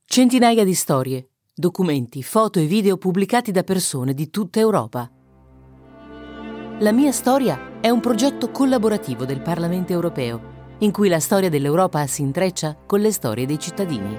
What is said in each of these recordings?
Centinaia di storie, documenti, foto e video pubblicati da persone di tutta Europa. La mia storia è un progetto collaborativo del Parlamento europeo, in cui la storia dell'Europa si intreccia con le storie dei cittadini.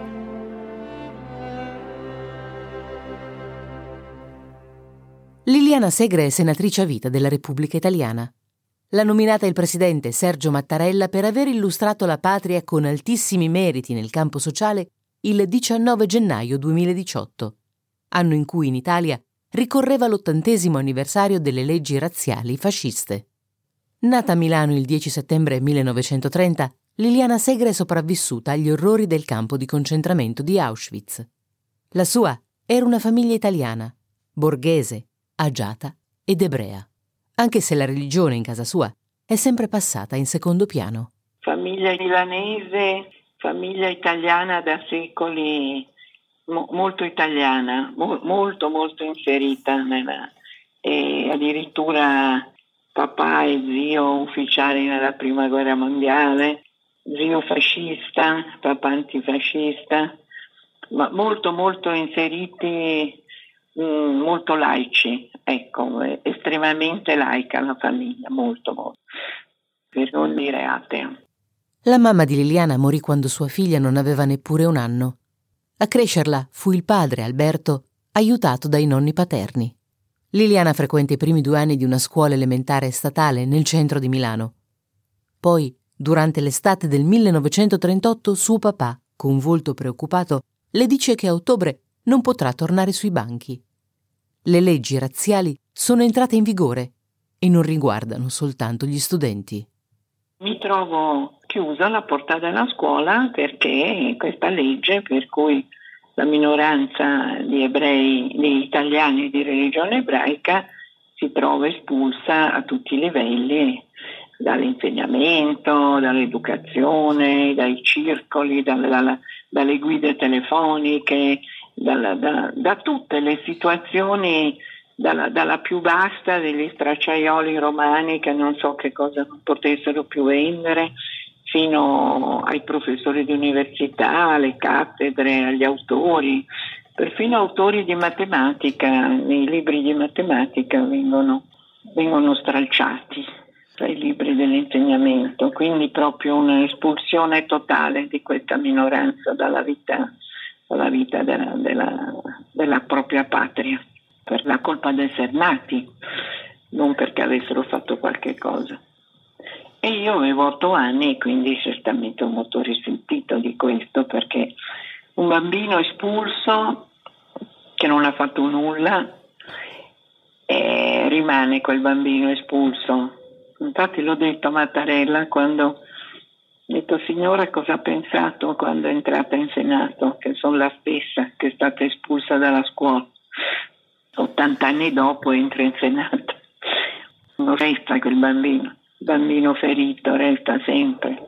Liliana Segre è senatrice a vita della Repubblica Italiana. L'ha nominata il presidente Sergio Mattarella per aver illustrato la patria con altissimi meriti nel campo sociale il 19 gennaio 2018, anno in cui in Italia ricorreva l'80° anniversario delle leggi razziali fasciste. Nata a Milano il 10 settembre 1930, Liliana Segre è sopravvissuta agli orrori del campo di concentramento di Auschwitz. La sua era una famiglia italiana, borghese, agiata ed ebrea, anche se la religione in casa sua è sempre passata in secondo piano. Famiglia milanese, famiglia italiana da secoli, molto italiana, molto inserita e addirittura papà e zio ufficiali nella prima guerra mondiale, zio fascista, papà antifascista, ma molto inseriti, molto laici, ecco, estremamente laica la famiglia, molto, per non dire atea. La mamma di Liliana morì quando sua figlia non aveva neppure un anno. A crescerla fu il padre, Alberto, aiutato dai nonni paterni. Liliana frequenta i primi 2 anni di una scuola elementare statale nel centro di Milano. Poi, durante l'estate del 1938, suo papà, con volto preoccupato, le dice che a ottobre non potrà tornare sui banchi. Le leggi razziali sono entrate in vigore e non riguardano soltanto gli studenti. Mi trovo chiusa alla porta della scuola perché questa legge per cui la minoranza di ebrei, di italiani di religione ebraica si trova espulsa a tutti i livelli, dall'insegnamento, dall'educazione, dai circoli, dalle guide telefoniche, da tutte le situazioni, dalla più vasta degli stracciaioli romani che non so che cosa non potessero più vendere, fino ai professori di università, alle cattedre, agli autori, perfino autori di matematica. Nei libri di matematica vengono stralciati dai libri dell'insegnamento, quindi proprio un'espulsione totale di questa minoranza dalla vita della propria patria, per la colpa di essere nati, non perché avessero fatto qualche cosa. E io avevo 8 anni e quindi certamente ho molto risentito di questo, perché un bambino espulso che non ha fatto nulla rimane quel bambino espulso. Infatti l'ho detto a Mattarella quando ho detto: signora, cosa ha pensato quando è entrata in Senato? Che sono la stessa che è stata espulsa dalla scuola. 80 anni dopo entra in Senato. Non resta quel bambino. Il bambino ferito resta sempre.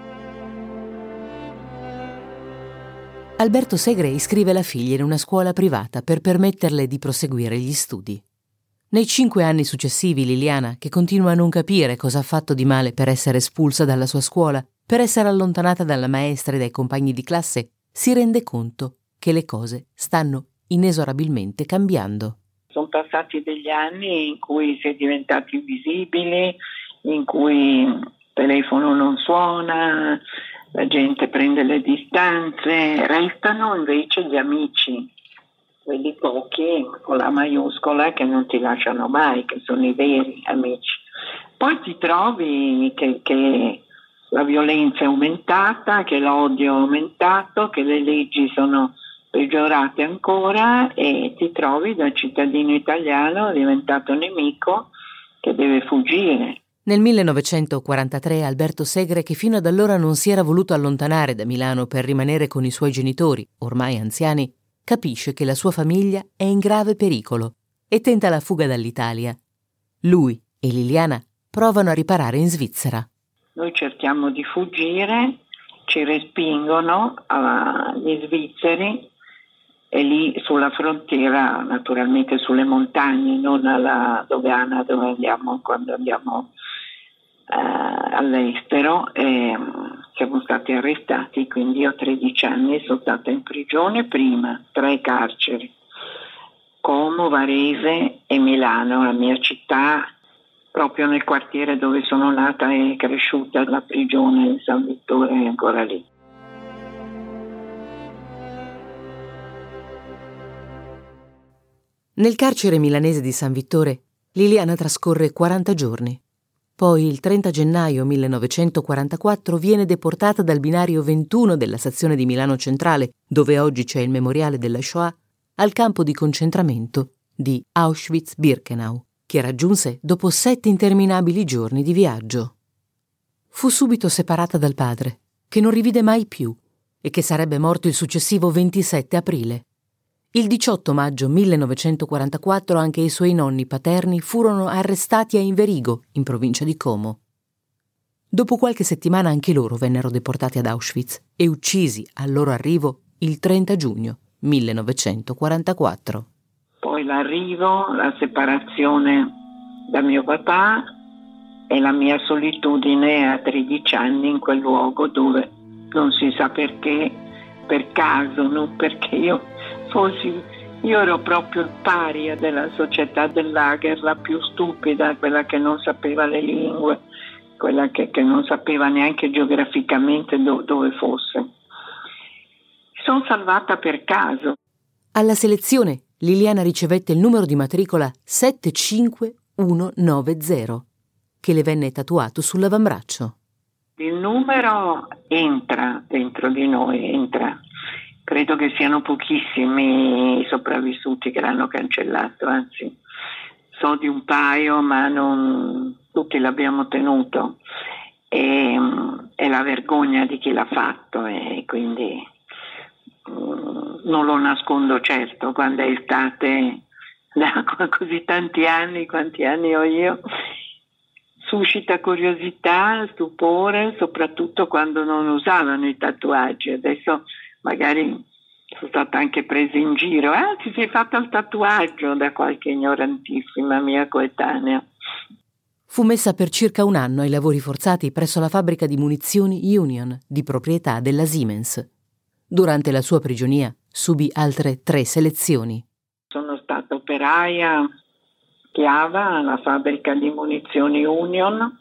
Alberto Segre iscrive la figlia in una scuola privata per permetterle di proseguire gli studi. Nei 5 anni successivi Liliana, che continua a non capire cosa ha fatto di male per essere espulsa dalla sua scuola, per essere allontanata dalla maestra e dai compagni di classe, si rende conto che le cose stanno inesorabilmente cambiando. Sono passati degli anni in cui si è diventati invisibili, in cui il telefono non suona, la gente prende le distanze, restano invece gli amici, quelli pochi con la maiuscola che non ti lasciano mai, che sono i veri amici. Poi ti trovi che la violenza è aumentata, che l'odio è aumentato, che le leggi sono peggiorate ancora e ti trovi da cittadino italiano diventato nemico che deve fuggire. Nel 1943 Alberto Segre, che fino ad allora non si era voluto allontanare da Milano per rimanere con i suoi genitori, ormai anziani, capisce che la sua famiglia è in grave pericolo e tenta la fuga dall'Italia. Lui e Liliana provano a riparare in Svizzera. Noi cerchiamo di fuggire, ci respingono gli svizzeri e lì sulla frontiera, naturalmente sulle montagne, non alla dogana dove andiamo quando andiamo all'estero, siamo stati arrestati, quindi io 13 anni sono stata in prigione prima, 3 carceri, Como, Varese e Milano, la mia città, proprio nel quartiere dove sono nata e cresciuta. La prigione in San Vittore è ancora lì. Nel carcere milanese di San Vittore, Liliana trascorre 40 giorni. Poi, il 30 gennaio 1944, viene deportata dal binario 21 della stazione di Milano Centrale, dove oggi c'è il memoriale della Shoah, al campo di concentramento di Auschwitz-Birkenau, che raggiunse dopo 7 interminabili giorni di viaggio. Fu subito separata dal padre, che non rivide mai più e che sarebbe morto il successivo 27 aprile. Il 18 maggio 1944 anche i suoi nonni paterni furono arrestati a Inverigo, in provincia di Como. Dopo qualche settimana anche loro vennero deportati ad Auschwitz e uccisi al loro arrivo il 30 giugno 1944. Poi l'arrivo, la separazione da mio papà e la mia solitudine a 13 anni in quel luogo dove non si sa perché, per caso, non perché io ero proprio il paria della società del lager, la più stupida, quella che non sapeva le lingue, quella che non sapeva neanche geograficamente dove fosse. Sono salvata per caso. Alla selezione Liliana ricevette il numero di matricola 75190, che le venne tatuato sull'avambraccio. Il numero entra dentro di noi, entra. Credo che siano pochissimi i sopravvissuti che l'hanno cancellato, anzi so di un paio, ma non tutti l'abbiamo tenuto. E la vergogna di chi l'ha fatto, e quindi non lo nascondo certo. Quando è estate da così tanti anni, quanti anni ho io, suscita curiosità, stupore, soprattutto quando non usavano i tatuaggi. Adesso magari sono stata anche presa in giro. Ti sei fatta il tatuaggio, da qualche ignorantissima mia coetanea. Fu messa per circa un anno ai lavori forzati presso la fabbrica di munizioni Union, di proprietà della Siemens. Durante la sua prigionia subì altre 3 selezioni. Sono stata operaia Chiava alla fabbrica di munizioni Union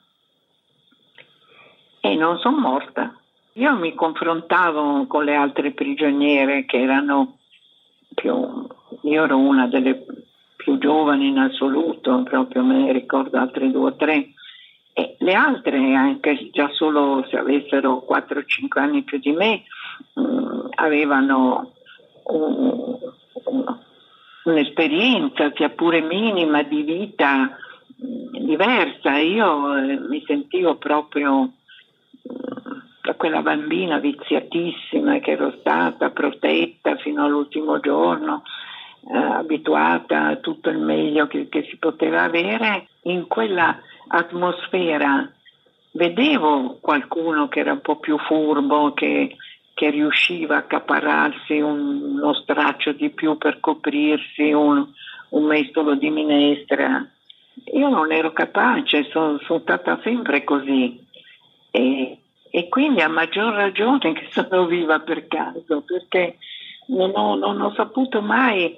e non sono morta. Io mi confrontavo con le altre prigioniere che erano io ero una delle più giovani in assoluto, proprio me ne ricordo altre 2 o 3, e le altre, anche già solo se avessero 4 o 5 anni più di me, avevano un'esperienza, sia pure minima, di vita diversa. Io mi sentivo proprio da quella bambina viziatissima che ero stata, protetta fino all'ultimo giorno, abituata a tutto il meglio che si poteva avere. In quella atmosfera vedevo qualcuno che era un po' più furbo, che riusciva a accaparrarsi uno straccio di più per coprirsi, un mestolo di minestra. Io non ero capace, sono stata sempre così. E quindi a maggior ragione che sono viva per caso, perché non ho saputo mai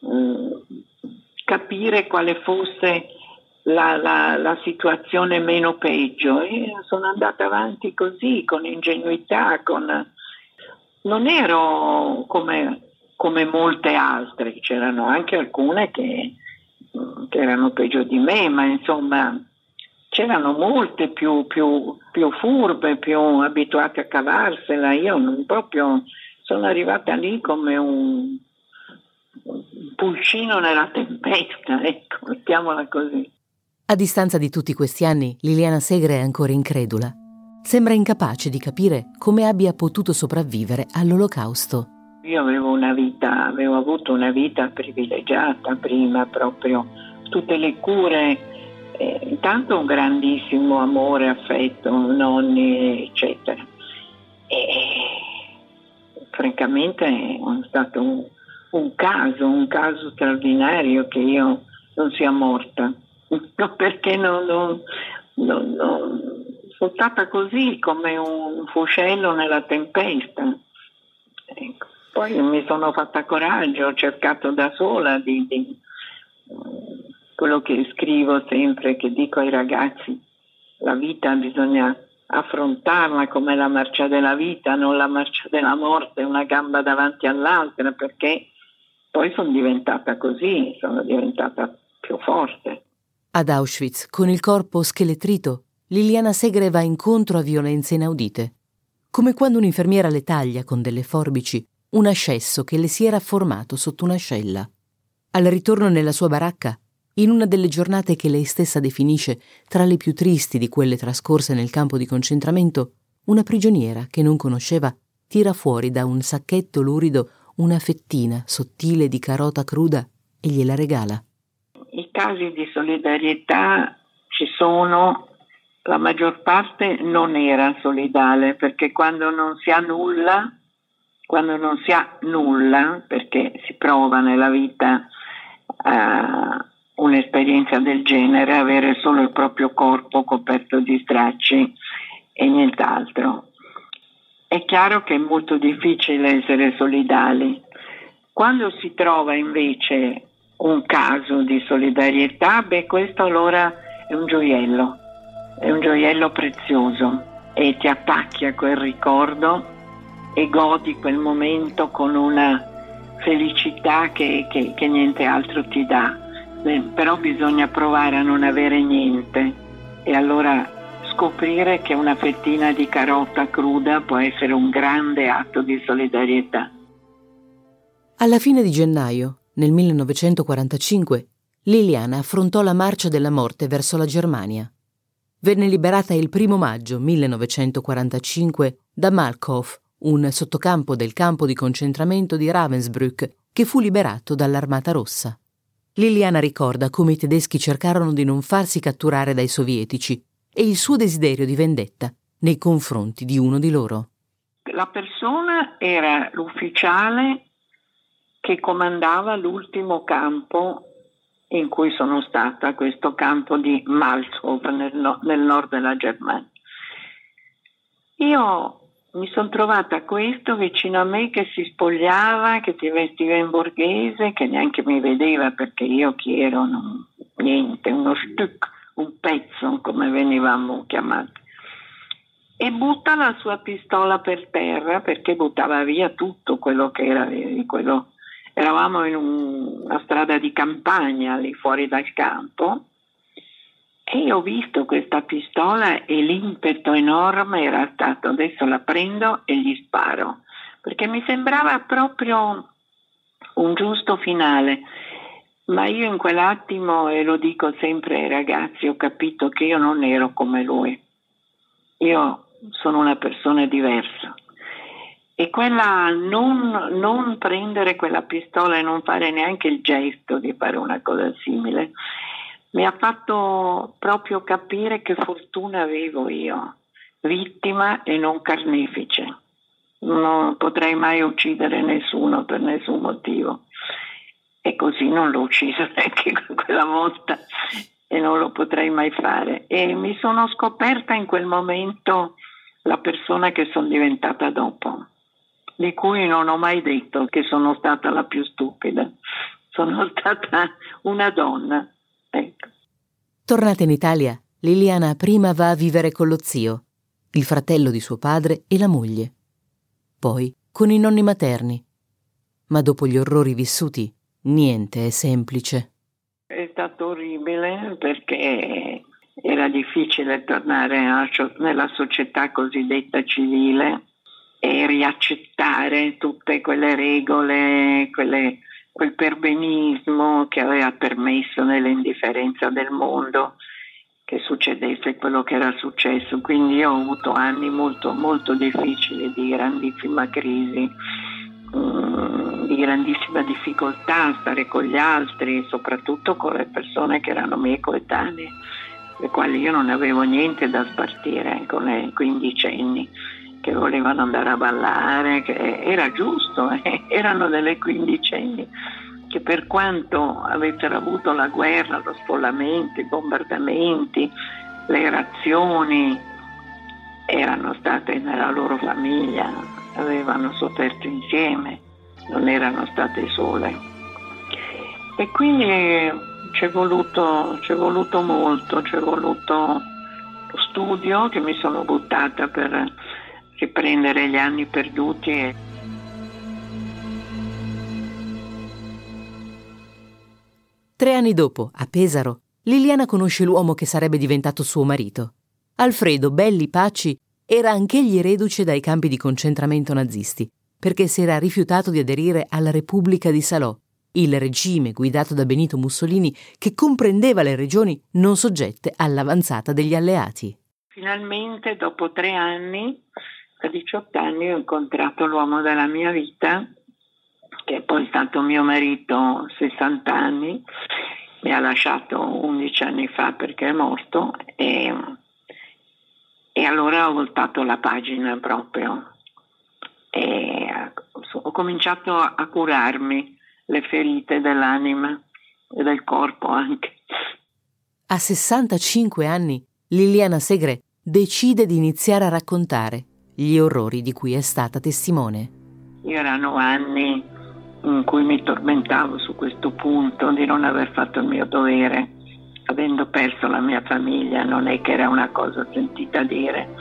capire quale fosse la situazione meno peggio, e sono andata avanti così, con ingenuità, non ero come molte altre, c'erano anche alcune che erano peggio di me, ma insomma c'erano molte più furbe, più abituate a cavarsela. Io non proprio sono arrivata lì come un pulcino nella tempesta, ecco, mettiamola così. A distanza di tutti questi anni, Liliana Segre è ancora incredula. Sembra incapace di capire come abbia potuto sopravvivere all'Olocausto. Io avevo avuto una vita privilegiata prima, proprio tutte le cure. Intanto un grandissimo amore, affetto, nonni, eccetera. E francamente è stato un caso straordinario che io non sia morta, perché sono buttata così come un fuscello nella tempesta. Ecco. Poi mi sono fatta coraggio, ho cercato da sola di quello che scrivo sempre, che dico ai ragazzi: la vita bisogna affrontarla come la marcia della vita, non la marcia della morte, una gamba davanti all'altra, perché poi sono diventata così, sono diventata più forte. Ad Auschwitz, con il corpo schelettrito, Liliana Segre va incontro a violenze inaudite, come quando un'infermiera le taglia con delle forbici un ascesso che le si era formato sotto un'ascella. Al ritorno nella sua baracca, in una delle giornate che lei stessa definisce tra le più tristi di quelle trascorse nel campo di concentramento, una prigioniera che non conosceva tira fuori da un sacchetto lurido una fettina sottile di carota cruda e gliela regala. I casi di solidarietà ci sono, la maggior parte non era solidale, perché quando non si ha nulla, perché si prova nella vita un'esperienza del genere, avere solo il proprio corpo coperto di stracci e nient'altro. È chiaro che è molto difficile essere solidali. Quando si trova invece un caso di solidarietà, questo allora è un gioiello prezioso, e ti attacchi a quel ricordo e godi quel momento con una felicità che niente altro ti dà. Però bisogna provare a non avere niente e allora scoprire che una fettina di carota cruda può essere un grande atto di solidarietà. Alla fine di gennaio, nel 1945, Liliana affrontò la marcia della morte verso la Germania. Venne liberata il 1 maggio 1945 da Malchow, un sottocampo del campo di concentramento di Ravensbrück, che fu liberato dall'Armata Rossa. Liliana ricorda come i tedeschi cercarono di non farsi catturare dai sovietici e il suo desiderio di vendetta nei confronti di uno di loro. La persona era l'ufficiale che comandava l'ultimo campo in cui sono stata, questo campo di Malchow nel nord della Germania. Io mi sono trovata questo vicino a me che si spogliava, che si vestiva in borghese, che neanche mi vedeva perché io chi ero? Niente, uno Stück, un pezzo come venivamo chiamati. E butta la sua pistola per terra perché buttava via tutto quello che era quello. Eravamo in una strada di campagna lì fuori dal campo e io ho visto questa pistola e l'impeto enorme era stato: adesso la prendo e gli sparo, perché mi sembrava proprio un giusto finale. Ma io in quell'attimo, e lo dico sempre ai ragazzi, ho capito che io non ero come lui, io sono una persona diversa. E quella non prendere quella pistola e non fare neanche il gesto di fare una cosa simile mi ha fatto proprio capire che fortuna avevo io, vittima e non carnefice. Non potrei mai uccidere nessuno per nessun motivo. E così non l'ho ucciso neanche quella volta e non lo potrei mai fare. E mi sono scoperta in quel momento la persona che sono diventata dopo, di cui non ho mai detto che sono stata la più stupida. Sono stata una donna. Ecco. Tornata in Italia, Liliana prima va a vivere con lo zio, il fratello di suo padre e la moglie. Poi con i nonni materni. Ma dopo gli orrori vissuti, niente è semplice. È stato orribile perché era difficile tornare nella società cosiddetta civile e riaccettare tutte quelle regole, quel perbenismo che aveva permesso nell'indifferenza del mondo che succedesse quello che era successo. Quindi io ho avuto anni molto, molto difficili, di grandissima crisi, di grandissima difficoltà a stare con gli altri, soprattutto con le persone che erano miei coetanee, le quali io non avevo niente da spartire, con le quindicenni che volevano andare a ballare, che era giusto, erano delle quindicenni che per quanto avessero avuto la guerra, lo sfollamento, i bombardamenti, le razioni, erano state nella loro famiglia, avevano sofferto insieme, non erano state sole. E quindi c'è voluto molto, c'è voluto lo studio, che mi sono buttata per riprendere gli anni perduti. 3 anni dopo, a Pesaro, Liliana conosce l'uomo che sarebbe diventato suo marito. Alfredo Belli Pacci era anch'egli reduce dai campi di concentramento nazisti, perché si era rifiutato di aderire alla Repubblica di Salò, il regime guidato da Benito Mussolini che comprendeva le regioni non soggette all'avanzata degli alleati. Finalmente, dopo 3 anni, a 18 anni, ho incontrato l'uomo della mia vita, che è poi stato mio marito 60 anni, mi ha lasciato 11 anni fa perché è morto, e allora ho voltato la pagina proprio e ho cominciato a curarmi le ferite dell'anima e del corpo anche. A 65 anni, Liliana Segre decide di iniziare a raccontare gli orrori di cui è stata testimone. Erano anni in cui mi tormentavo su questo punto di non aver fatto il mio dovere, avendo perso la mia famiglia, non è che era una cosa sentita dire.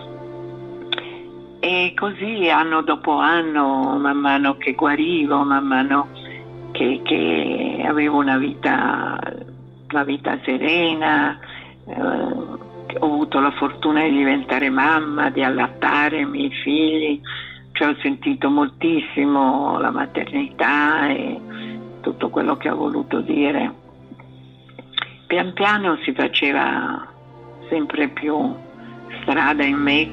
E così anno dopo anno, man mano che guarivo, man mano che avevo una vita serena, ho avuto la fortuna di diventare mamma, di allattare i miei figli, cioè ho sentito moltissimo la maternità e tutto quello che ha voluto dire. Pian piano si faceva sempre più strada in me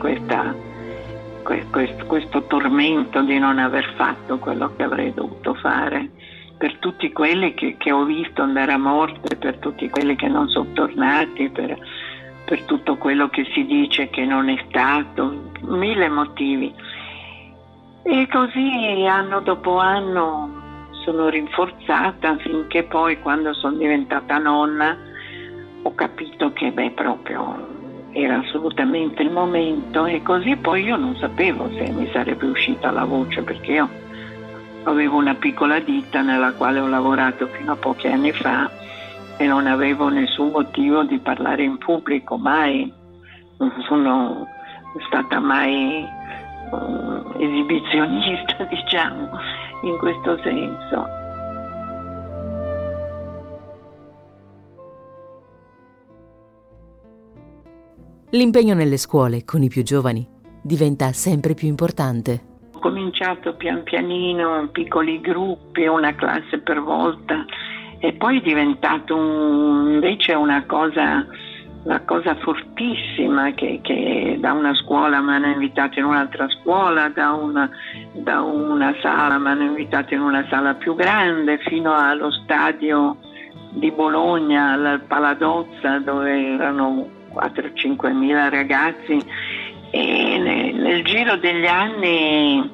questo tormento di non aver fatto quello che avrei dovuto fare, per tutti quelli che ho visto andare a morte, per tutti quelli che non sono tornati, per tutto quello che si dice che non è stato, 1000 motivi. E così anno dopo anno sono rinforzata finché poi, quando sono diventata nonna, ho capito che proprio era assolutamente il momento. E così poi io non sapevo se mi sarebbe uscita la voce, perché io avevo una piccola ditta nella quale ho lavorato fino a pochi anni fa e non avevo nessun motivo di parlare in pubblico, mai. Non sono stata mai esibizionista, diciamo, in questo senso. L'impegno nelle scuole con i più giovani diventa sempre più importante. Ho cominciato pian pianino in piccoli gruppi, una classe per volta, e poi è diventato invece una cosa fortissima, che da una scuola mi hanno invitato in un'altra scuola, da una sala mi hanno invitato in una sala più grande, fino allo stadio di Bologna, al Paladozza, dove erano 4-5 mila ragazzi. E nel giro degli anni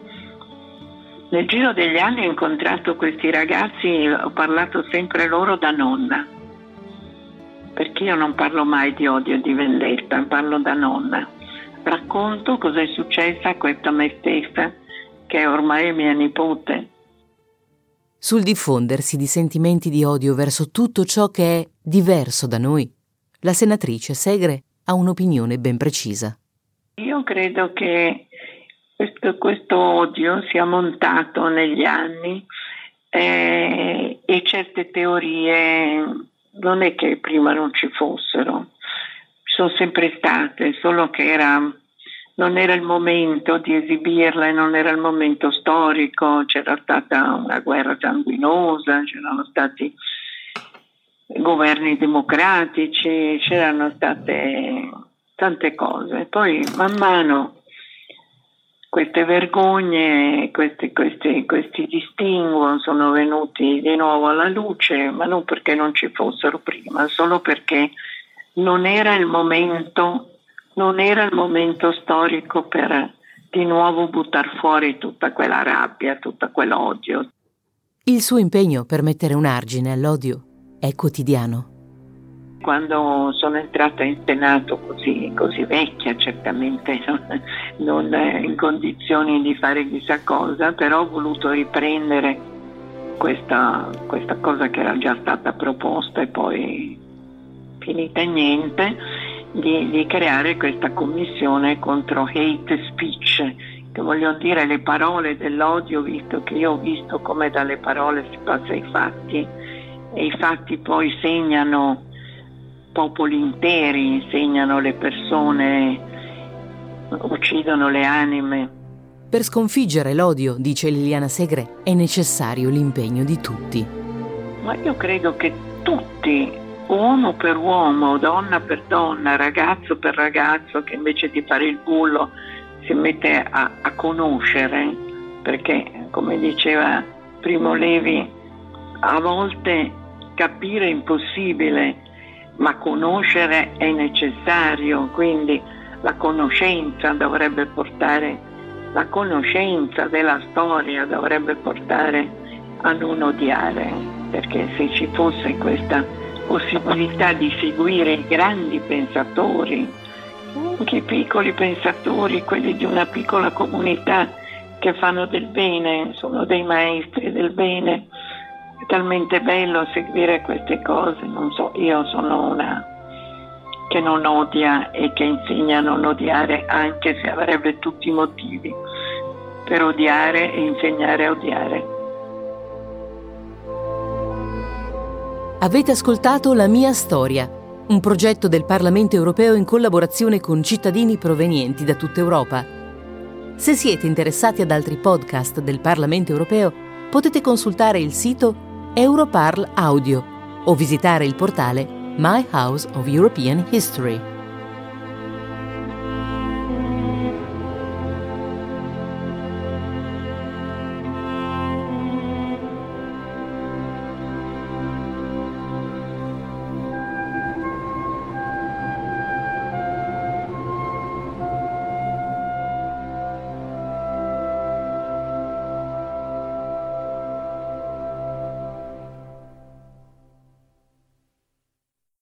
ho incontrato questi ragazzi, ho parlato sempre loro da nonna, perché io non parlo mai di odio e di vendetta, parlo da nonna. Racconto cosa è successo a questa me stessa, che ormai è mia nipote. Sul diffondersi di sentimenti di odio verso tutto ciò che è diverso da noi, la senatrice Segre ha un'opinione ben precisa. Io credo che questo odio sia montato negli anni e certe teorie non è che prima non ci fossero, ci sono sempre state, solo che non era il momento di esibirle, non era il momento storico, c'era stata una guerra sanguinosa, c'erano stati governi democratici, c'erano state tante cose. Poi man mano queste vergogne, questi distinguo sono venuti di nuovo alla luce, ma non perché non ci fossero prima, solo perché non era il momento storico per di nuovo buttar fuori tutta quella rabbia, tutto quell'odio. Il suo impegno per mettere un argine all'odio è quotidiano. Quando sono entrata in Senato così vecchia, certamente non in condizioni di fare chissà cosa, però ho voluto riprendere questa cosa che era già stata proposta e poi finita in niente, di creare questa commissione contro hate speech, che voglio dire le parole dell'odio, visto che io ho visto come dalle parole si passa ai fatti e i fatti poi segnano popoli interi, segnano le persone, uccidono le anime. Per sconfiggere l'odio, dice Liliana Segre, è necessario l'impegno di tutti. Ma io credo che tutti, uomo per uomo, donna per donna, ragazzo per ragazzo, che invece di fare il bullo si mette a conoscere, perché come diceva Primo Levi, a volte capire è impossibile, ma conoscere è necessario, quindi la conoscenza della storia dovrebbe portare a non odiare, perché se ci fosse questa possibilità di seguire i grandi pensatori, anche i piccoli pensatori, quelli di una piccola comunità che fanno del bene, sono dei maestri del bene, è talmente bello seguire queste cose. Non so, io sono una che non odia e che insegna a non odiare, anche se avrebbe tutti i motivi per odiare e insegnare a odiare. Avete ascoltato La mia storia, un progetto del Parlamento europeo in collaborazione con cittadini provenienti da tutta Europa. Se siete interessati ad altri podcast del Parlamento europeo, potete consultare il sito Europarl Audio o visitare il portale My House of European History.